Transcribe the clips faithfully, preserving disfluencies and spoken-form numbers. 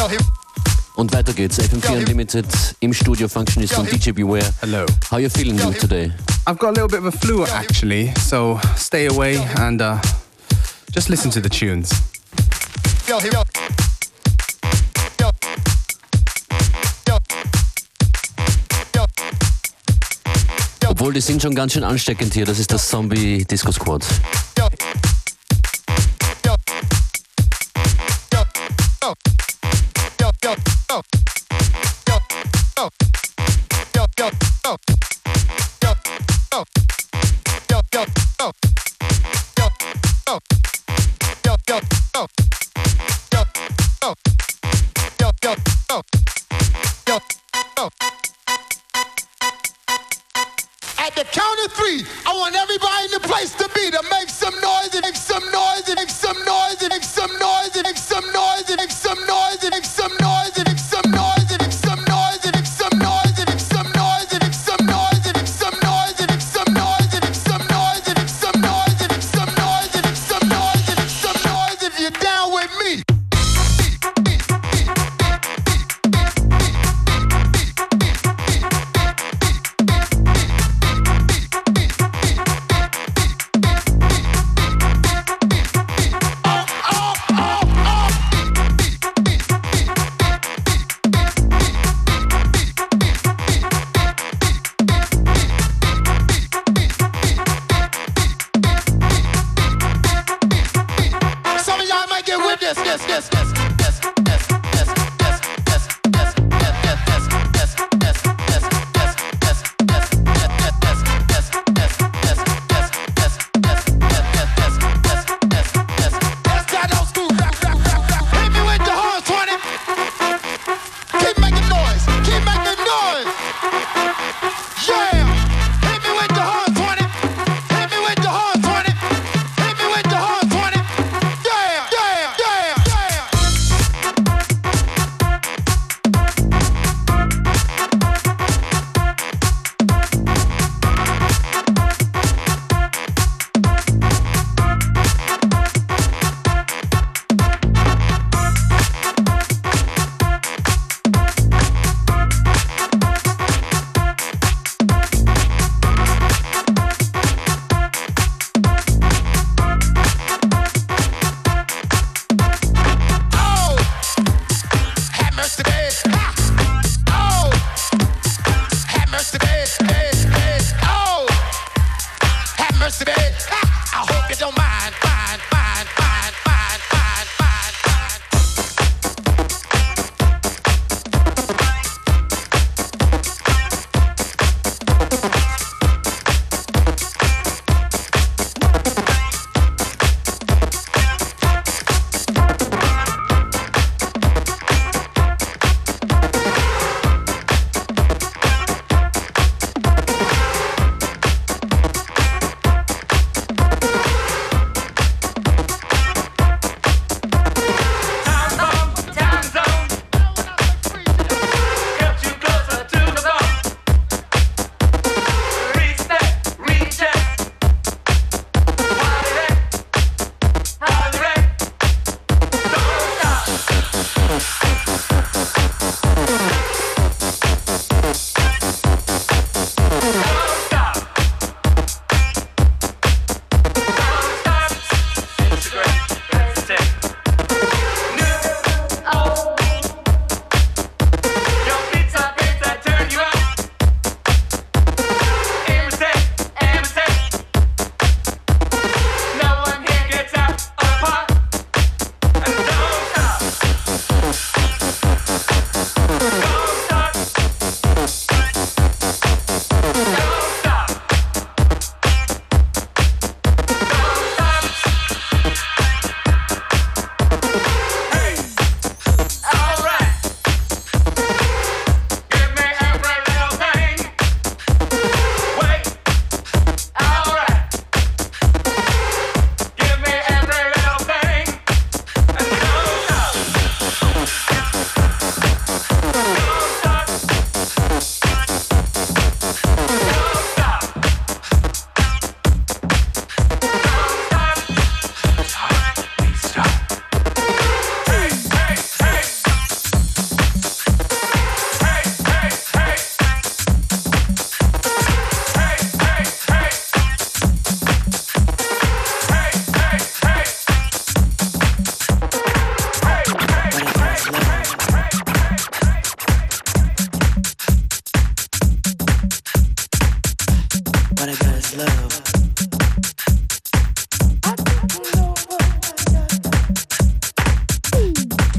Und weiter geht's. F M vier Unlimited im Studio, Functionist und D J Beware. Hello. How are you feeling today? I've got a little bit of a flu actually, so stay away and uh, just listen to the tunes. Obwohl, die sind schon ganz schön ansteckend hier. Das ist das Zombie Disco Squad. At the count of three, I want everybody in the place to be to make some noise and make some noise and make some noise and make some noise and make some noise and make some noise and make some noise and make some noise and make some noise and make some noise and make some noise and make some noise and make some noise and make some noise and make some noise and make some noise and make some noise and make some noise and make some noise if you're down with me.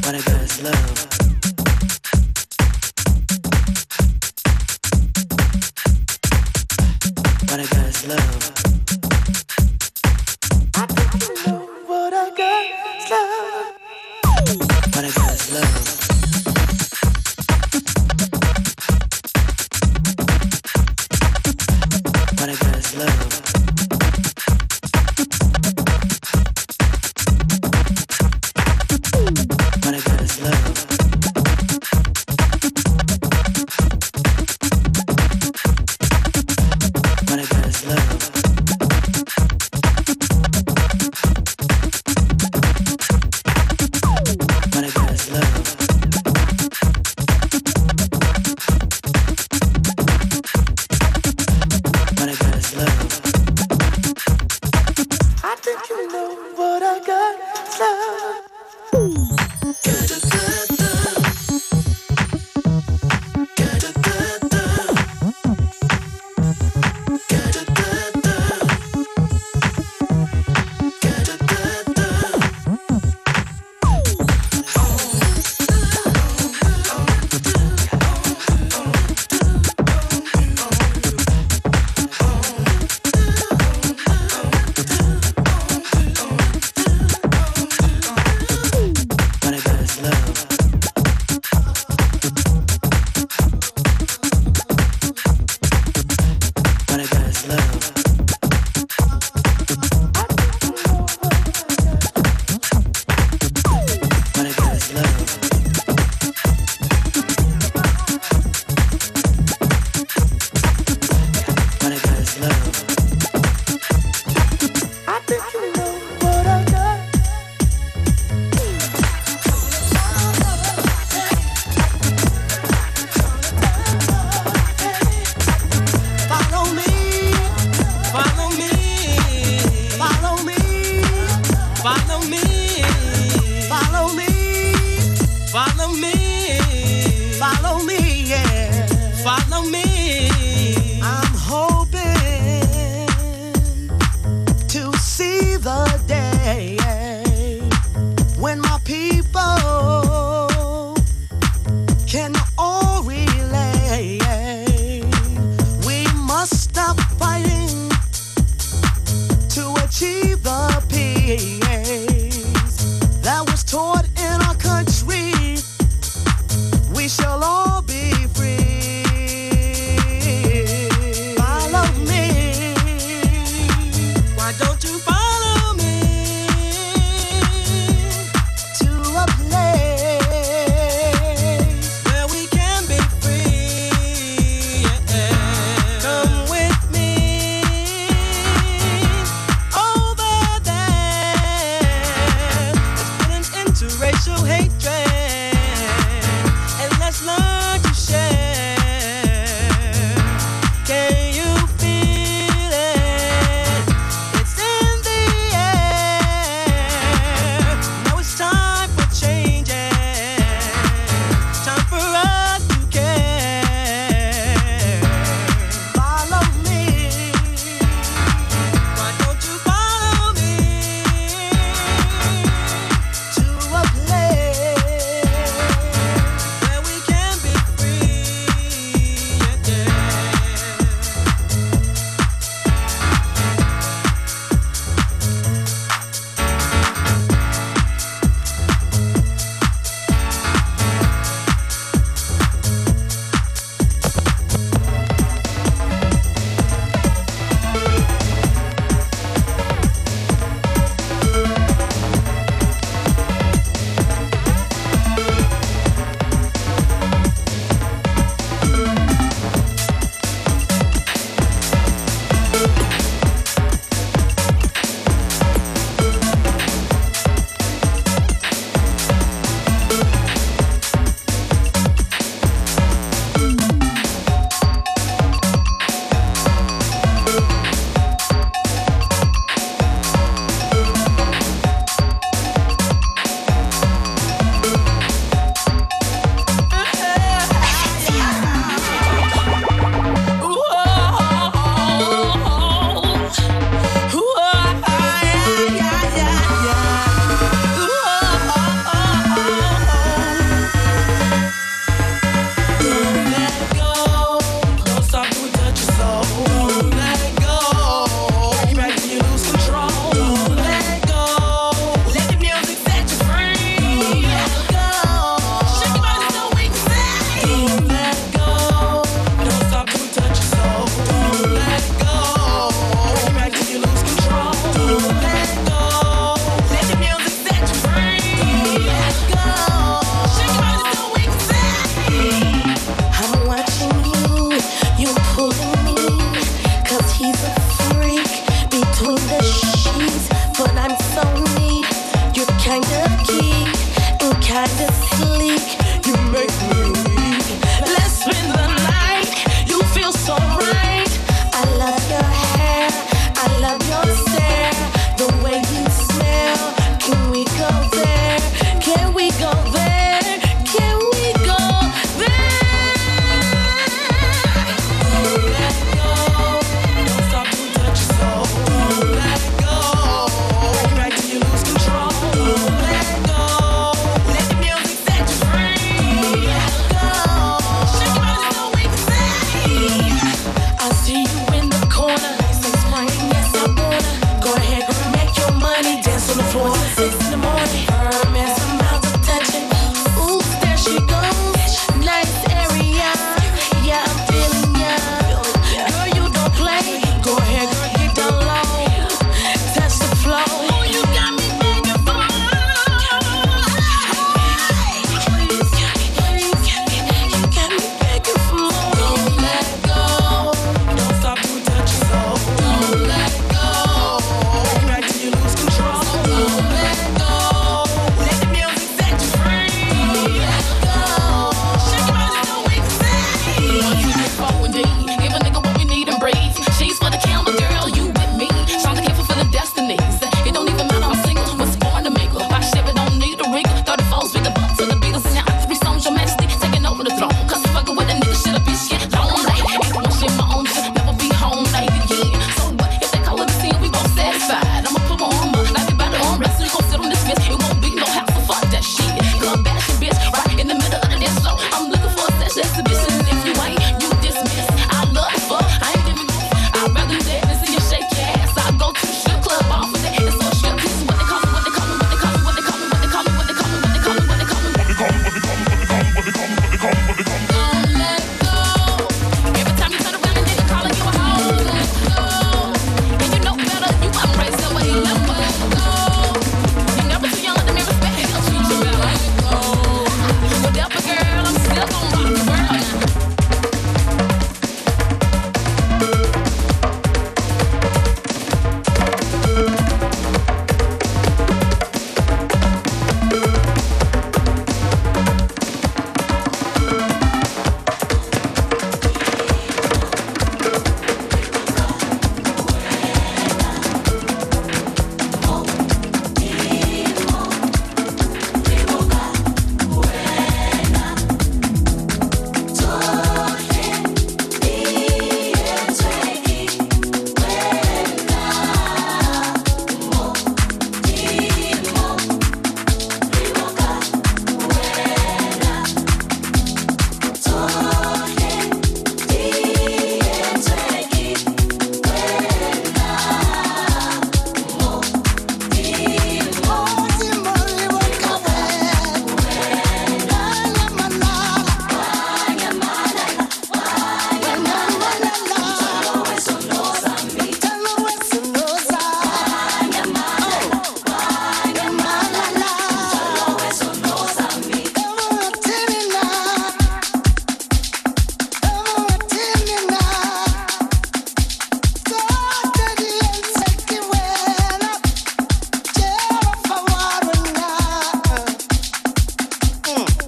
Where we can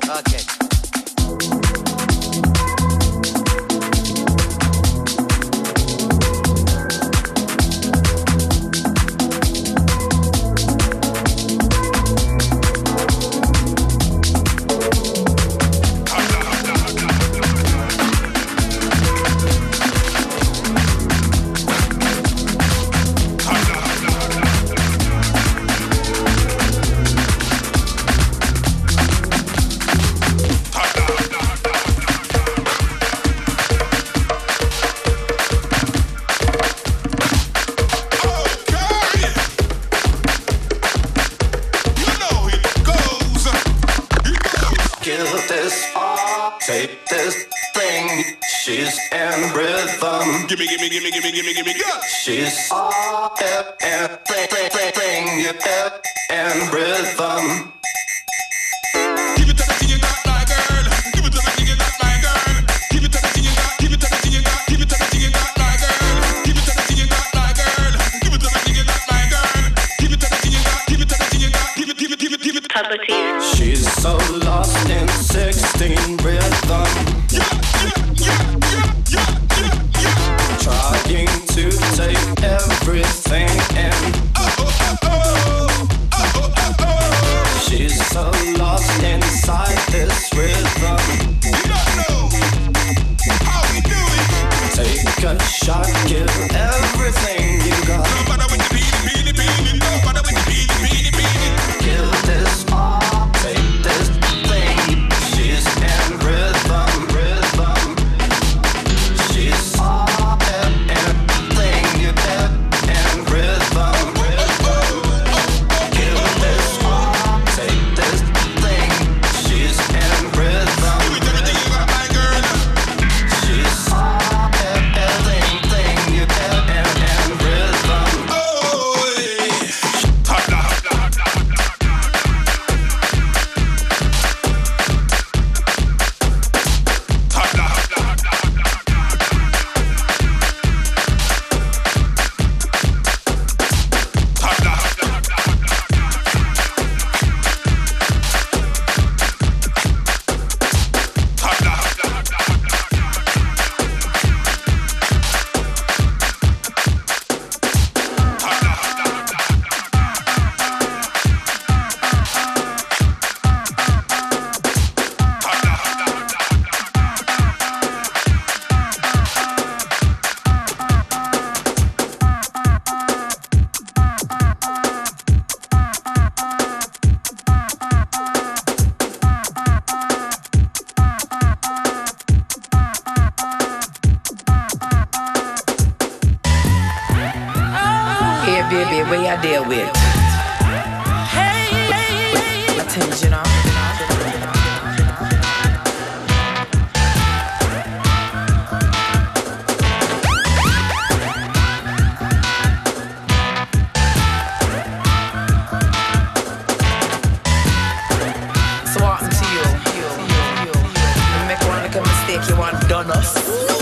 Okay. Gimme, gimme, gimme, gimme, gimme, gimme, yeah. She's all everything, and rhythm. Give it to the thing you got, my girl. Give it to the thing you got, my girl. Give it to the thing you got, give it to the thing you got, give it to the thing you got, my girl. Give it to the thing you got, my girl. Give it to the thing you got, my girl. Give it to the thing you got, give it to the thing you got, give it, give it, give it, give it. She's so lost in sixteen rhythm. Yeah, yeah, yeah, yeah, yeah, yeah. Trying to take everything in. Oh, oh, oh, oh, oh, oh, oh. She's so lost inside this rhythm. You don't know how we do it. Take a shot, give everything you got. No matter with the beanie, beanie, beanie. No matter with the beanie, beanie, beanie. Give this all, take this thing. She's in rhythm, rhythm. She's all everything you get in rhythm, rhythm. Give this all, take this thing. She's in rhythm. Give it everything you got, my girl. She's all everything you get in rhythm. Oh, yeah. Top down. Top down. Top down. Top down. Here, baby, where you deal with? Attention, you So what happened to you? You make one little mistake, you want done us.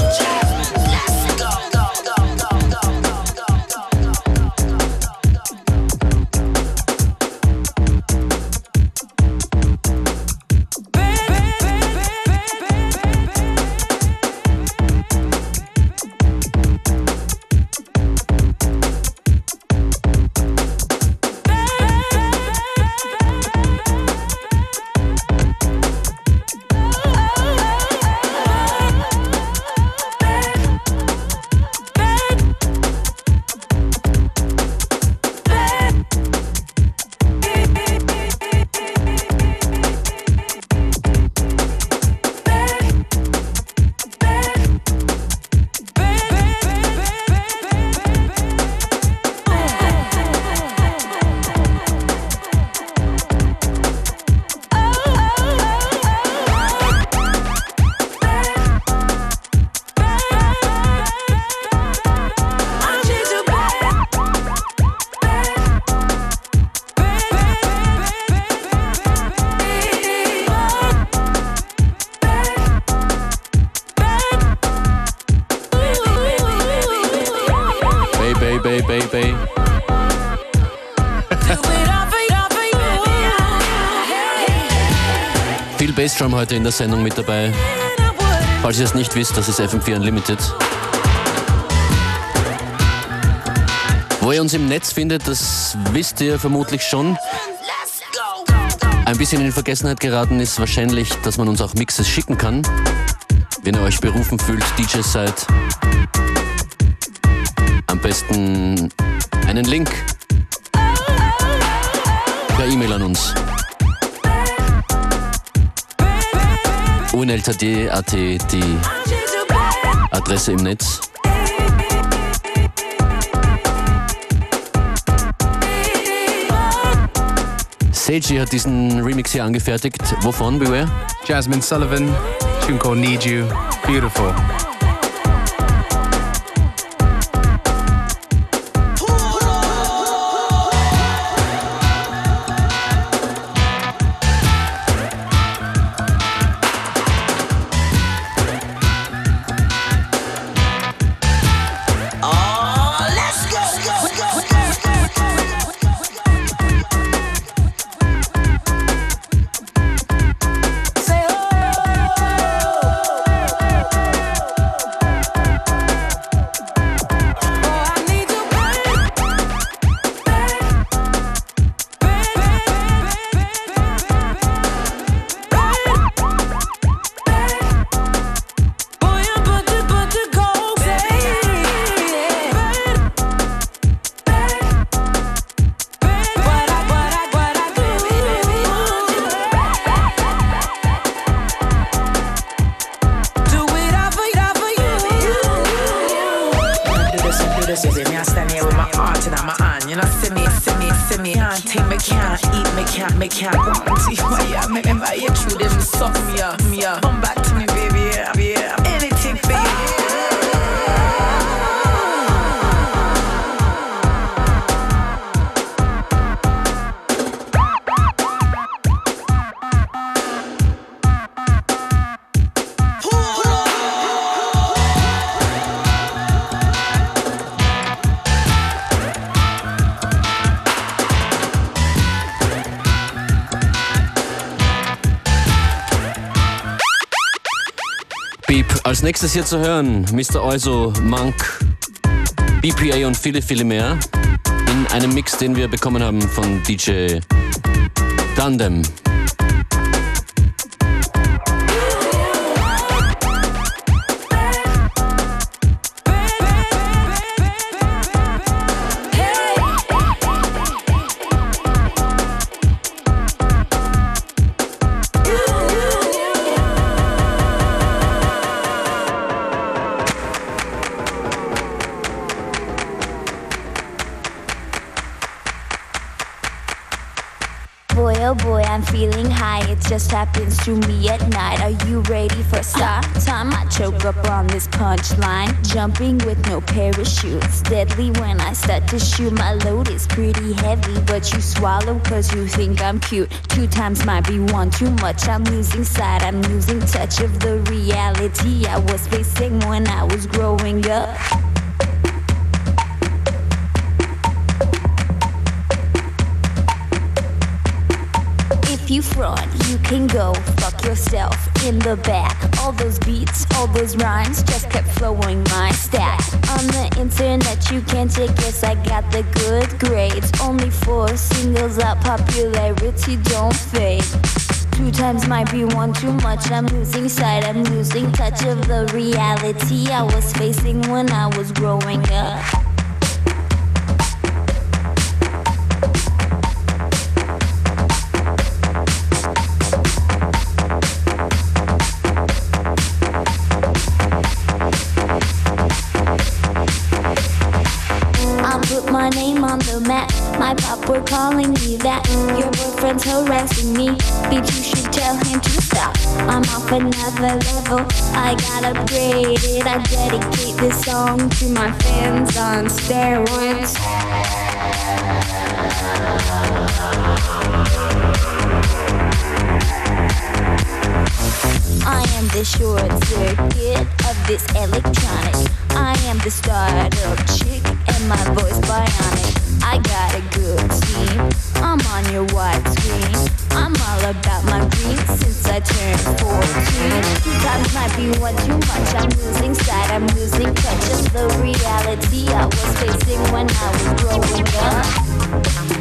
Baby, baby. Viel Bassdrum heute in der Sendung mit dabei. Falls ihr es nicht wisst, das ist F M vier Unlimited. Wo ihr uns im Netz findet, das wisst ihr vermutlich schon. Ein bisschen in Vergessenheit geraten ist wahrscheinlich, dass man uns auch Mixes schicken kann. Wenn ihr euch berufen fühlt, D Js seid, am besten einen Link per E-Mail an uns. unltd punkt at die Adresse im Netz. Seiji hat diesen Remix hier angefertigt. Wovon, Beware? Jasmine Sullivan, tune called Need You. Beautiful. Als nächstes hier zu hören, Mister Oizo, Monk, B P A und viele, viele mehr in einem Mix, den wir bekommen haben von D J Tandem. Boy, oh boy, I'm feeling high. It just happens to me at night. Are you ready for start time? I choke up on this punchline. Jumping with no parachutes. Deadly when I start to shoot. My load is pretty heavy, but you swallow cause you think I'm cute. Two times might be one too much. I'm losing sight, I'm losing touch of the reality I was facing when I was growing up. If you front, you can go fuck yourself in the back. All those beats, all those rhymes just kept flowing my stack. On the internet you can take guess I got the good grades. Only four singles out, popularity don't fade. Two times might be one too much. I'm losing sight, I'm losing touch of the reality I was facing when I was growing up. My name on the map, my pop were calling me that. Your boyfriend's harassing me, bitch you should tell him to stop. I'm off another level, I got upgraded. I dedicate this song to my fans on steroids. I am the short circuit of this electronic. I am the startup chick and my voice bionic. I got a good team, I'm on your widescreen. I'm all about my green since I might be one too much. I'm losing sight, I'm losing touch of the reality I was facing when I was growing up.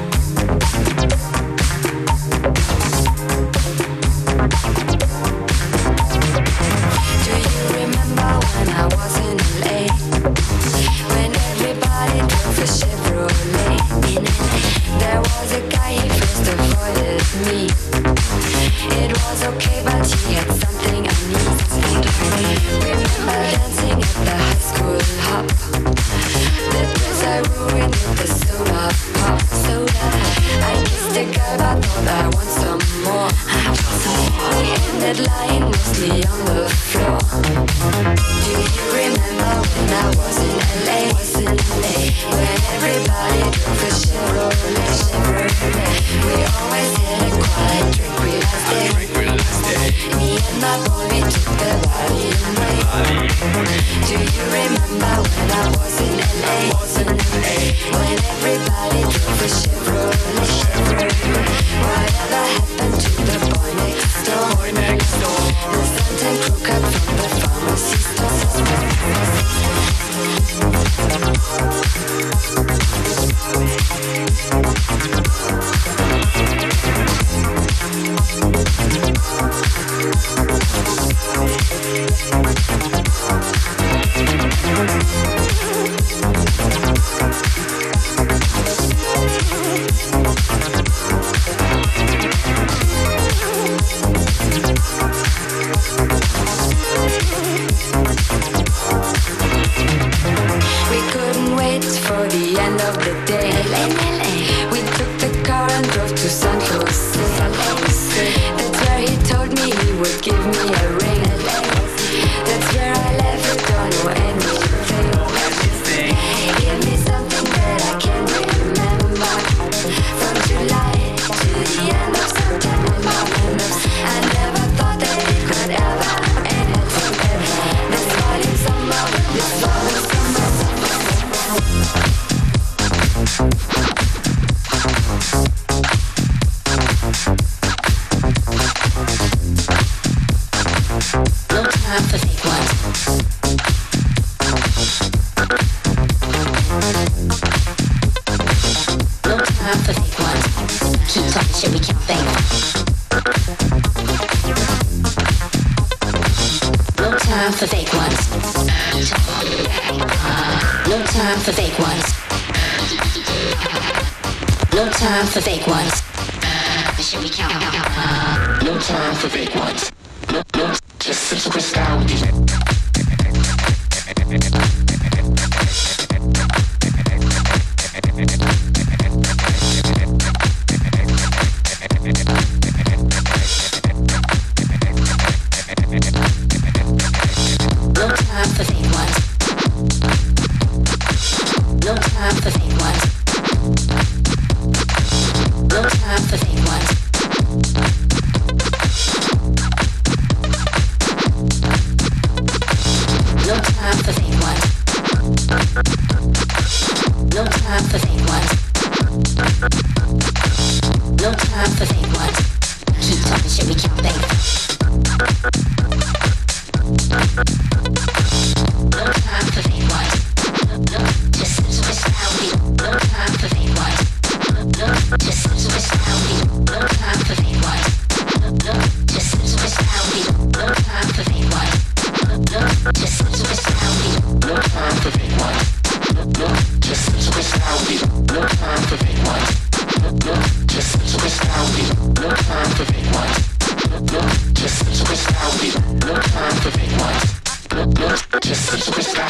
Do you remember when I was in L A? When everybody drove a Chevrolet. There was a guy, he first avoided me. It was okay, but he had something I need. Remember dancing at the high school hop. The dress I ruined with the soda pop. Soda. I kissed a girl, but thought I want some more. We ended lying mostly on the floor. Do you remember when I was in L A? Was in L A when everybody drove a Chevrolet. Chevrolet. We always had a quiet drink. We last day. Me and my boy, we took the body away. Do you remember when I was in L A? Was in L A when everybody drove a Chevrolet. Chevrolet. Whatever happened to the boy next door? Boy next door. The Santa crew cut from the pharmacy We couldn't wait for the end of the day. We took the car and drove to San Jose. That's where he told me he would give me a ring. That's where I left it, don't know anything. Give me something that I can remember. From July to the end of September. I never thought that it could ever end. This volume summer, this volume summer. No time for fake ones. No time for fake ones. Keep talking shit, we can't fake. No time for fake ones. No time for fake ones. No time for fake ones. Shit, we count. No time for fake ones. No, no, just sit to crystal with these. No time for fake ones. No time for fake ones. No time for fake ones. No time for fake ones. No time for fake ones. No time for fake ones. Keep talking shit, we can't fake. No time for fake ones. No, just switch now. No time for fake ones. No, just switch now. No time for fake ones. No, just switch now. No time for fake ones. No, just switch now. No time for fake ones. No, just switch now. No time for fake ones. No, just switch now. No time for fake ones. No, just switch now. No time for fake ones. No, just switch now.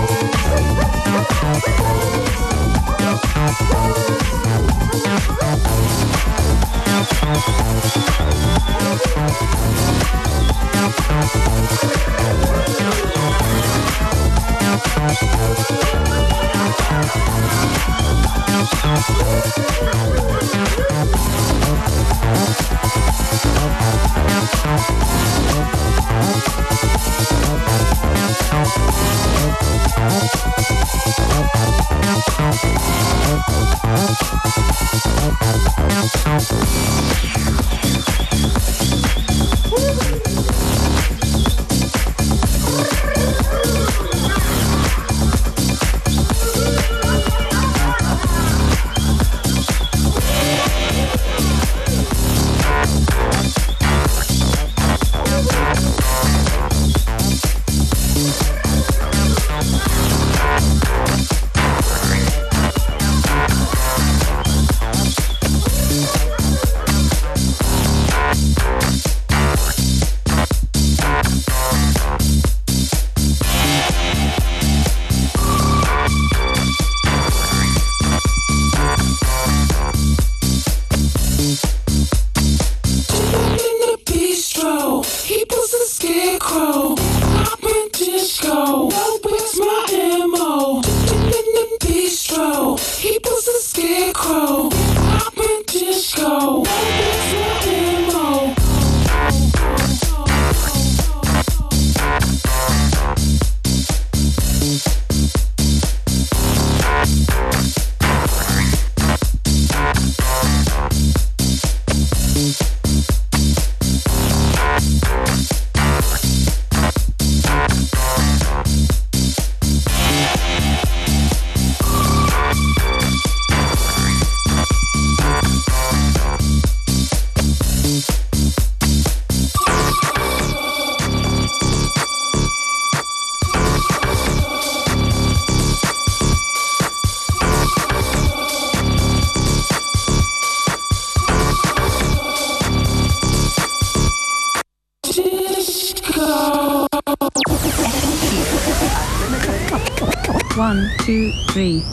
One, two, three.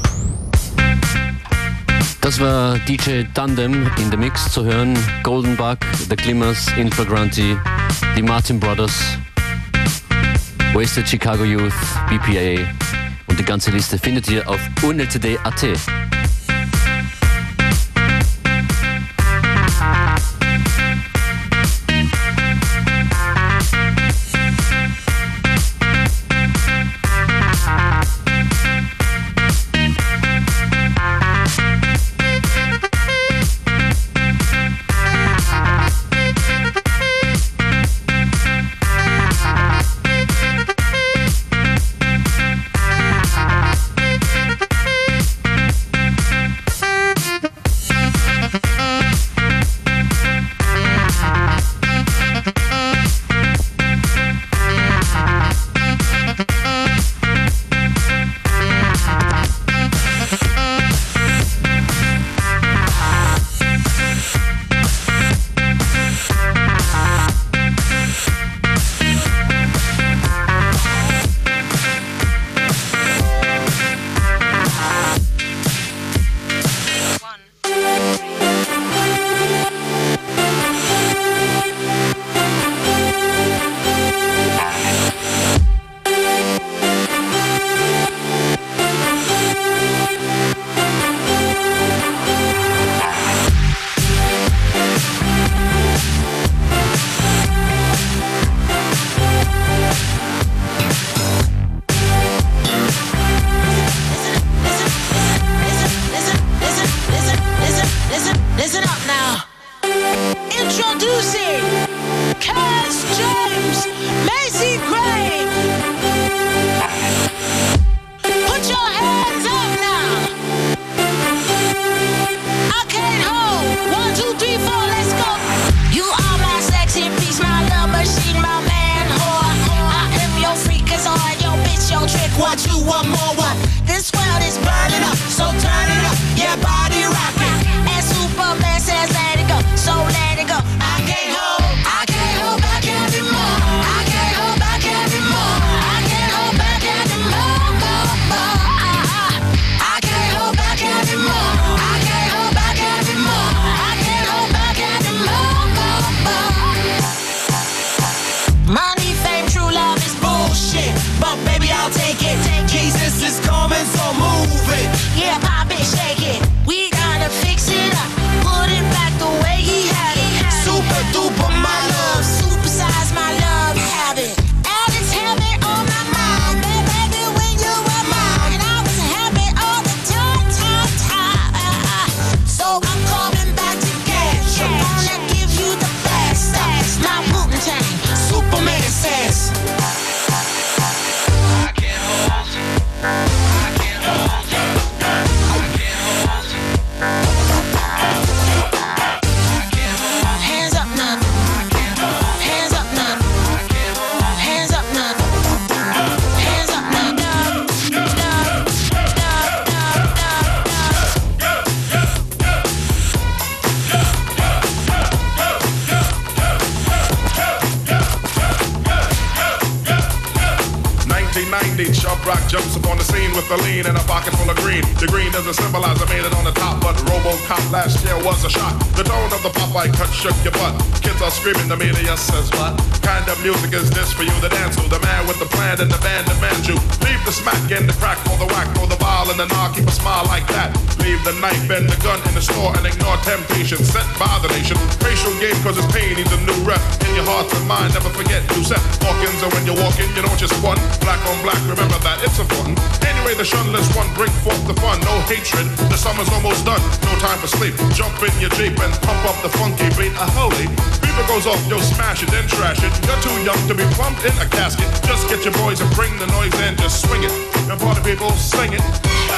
Das war D J Tandem in the Mix zu hören. Golden Buck, The Glimmers, Infragranti, die Martin Brothers, Wasted Chicago Youth, B P A und die ganze Liste findet ihr auf u n l c d punkt a t. rock jumps upon the scene with a lean and a pocket full of green. The green doesn't symbolize I made it on the top, but RoboCop last year was a shot. The tone of the Popeye cut shook your butt. Kids are screaming, the media says what? Kind of music is this for you to dance to? The man with the plan and the band demands you. Leave the smack and the crack for the whack, for the ball and the knock, keep a smile like that. Leave the knife and the gun in the store and ignore temptation sent by the nation. Racial game cause it's pain needs a new rep. In your heart and mind, never forget you set Hawkins, and when you're walking, you don't just one. Black on black, remember that it's important. Anyway, the shunless one, bring forth the fun. No hatred, the summer's almost done. No time for sleep. Jump in your Jeep and pump up the funky beat. A holy beaver goes off, yo, smash it, then trash it. You're too young to be plumped in a casket. Just get your boys and bring the noise in, just swing it. And party people, sing it.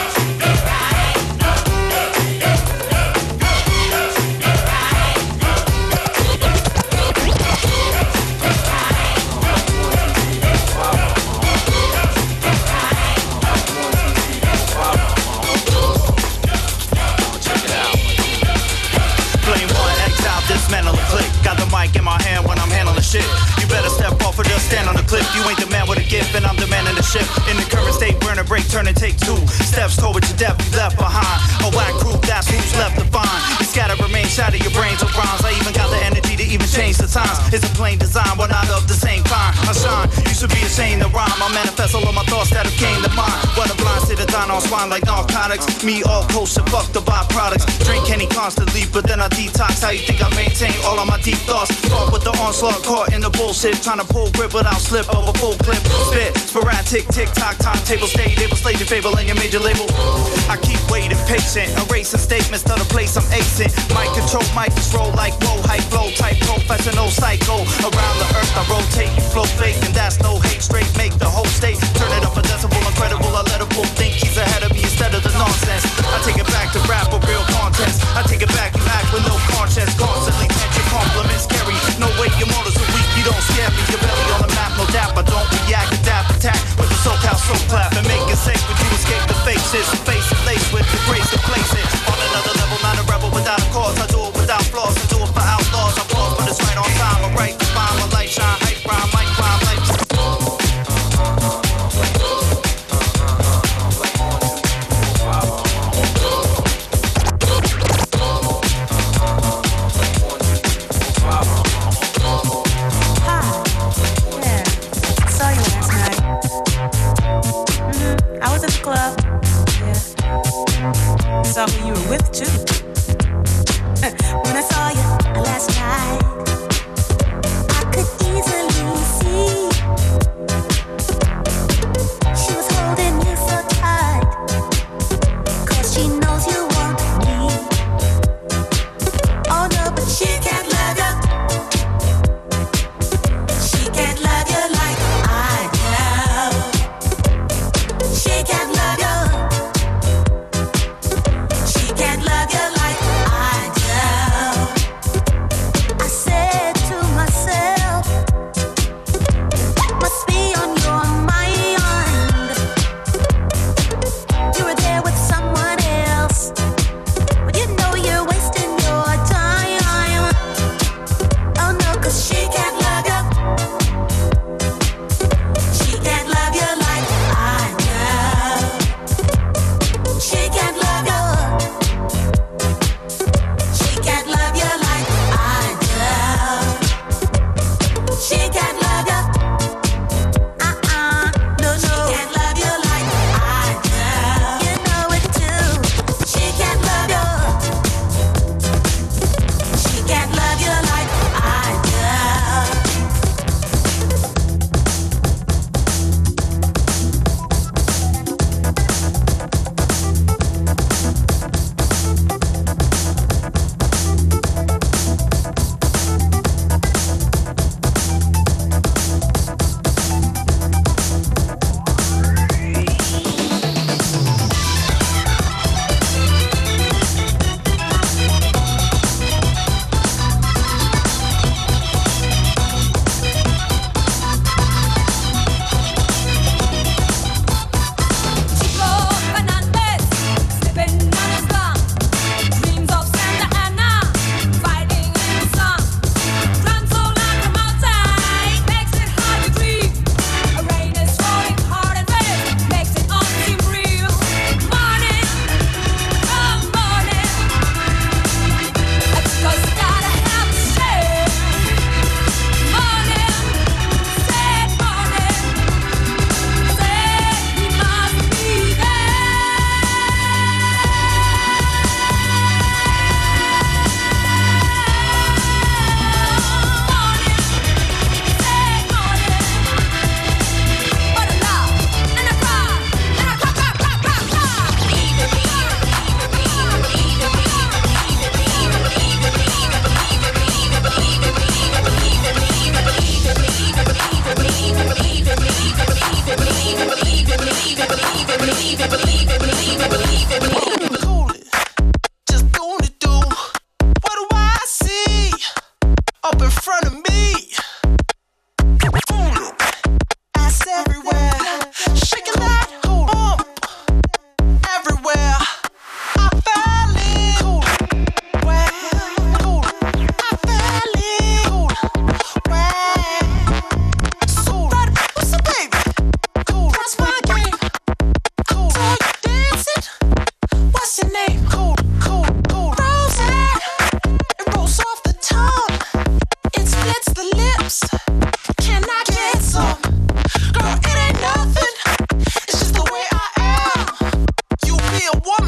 Got the mic in my hand when I'm handling shit. You better step off or just stand on the cliff. You ain't the man with a gift and I'm the man in the ship. In the current state, burn a break, turn and take two steps toward your death, you left behind. A whack group, that's who's left to find. You scatter, remain, shatter your brains with rhymes. I even got the energy to even change the times. It's a plain design, we're not of the same kind. I shine, you should be ashamed to rhyme. I manifest all of my thoughts that have came to mind. What a blind state of dine on swine like narcotics. Me all kosher, fuck the byproducts. Drink any constantly, but then I detox. How you think I maintain all of my deep thoughts? Caught with the onslaught, caught in the bullshit. Trying to pull grip without slip over full clip. Spit, sporadic, tick tock, timetable, stay able, slay your fable and your major label. I keep waiting patient, erasing statements to the place I'm acing. Mic control, mic roll like whoa, hype flow, type professional psycho. Around the earth I rotate, you flow fake, and that's no hate. Straight make the whole state turn it up a decibel, incredible. I let a fool think he's ahead of me instead of the nonsense. I take it back to rap with real contest. I take it back, you act with no conscience. Constantly catch your compliments carry. No way your motives are weak, you don't scare me. Your belly on the map, no doubt. I don't react, adapt, attack with the SoCal soul clap and make it safe. But you escape the faces, face it laced with the grace to place it on another level. Not a rebel without a cause. I do it without flaws. I do it for outlaws. I pause, but it's right on time. I write the spine, my light shine, hype rhyme, mic rhyme, life. Club, yeah. Saw who you were with too. When I saw you last night, I could easily see she was holding you so tight, 'cause she knows you want me. Oh no, but she can't love you. She can't love you like I love. She can't love you. She can't love you like I do. I Damn, what?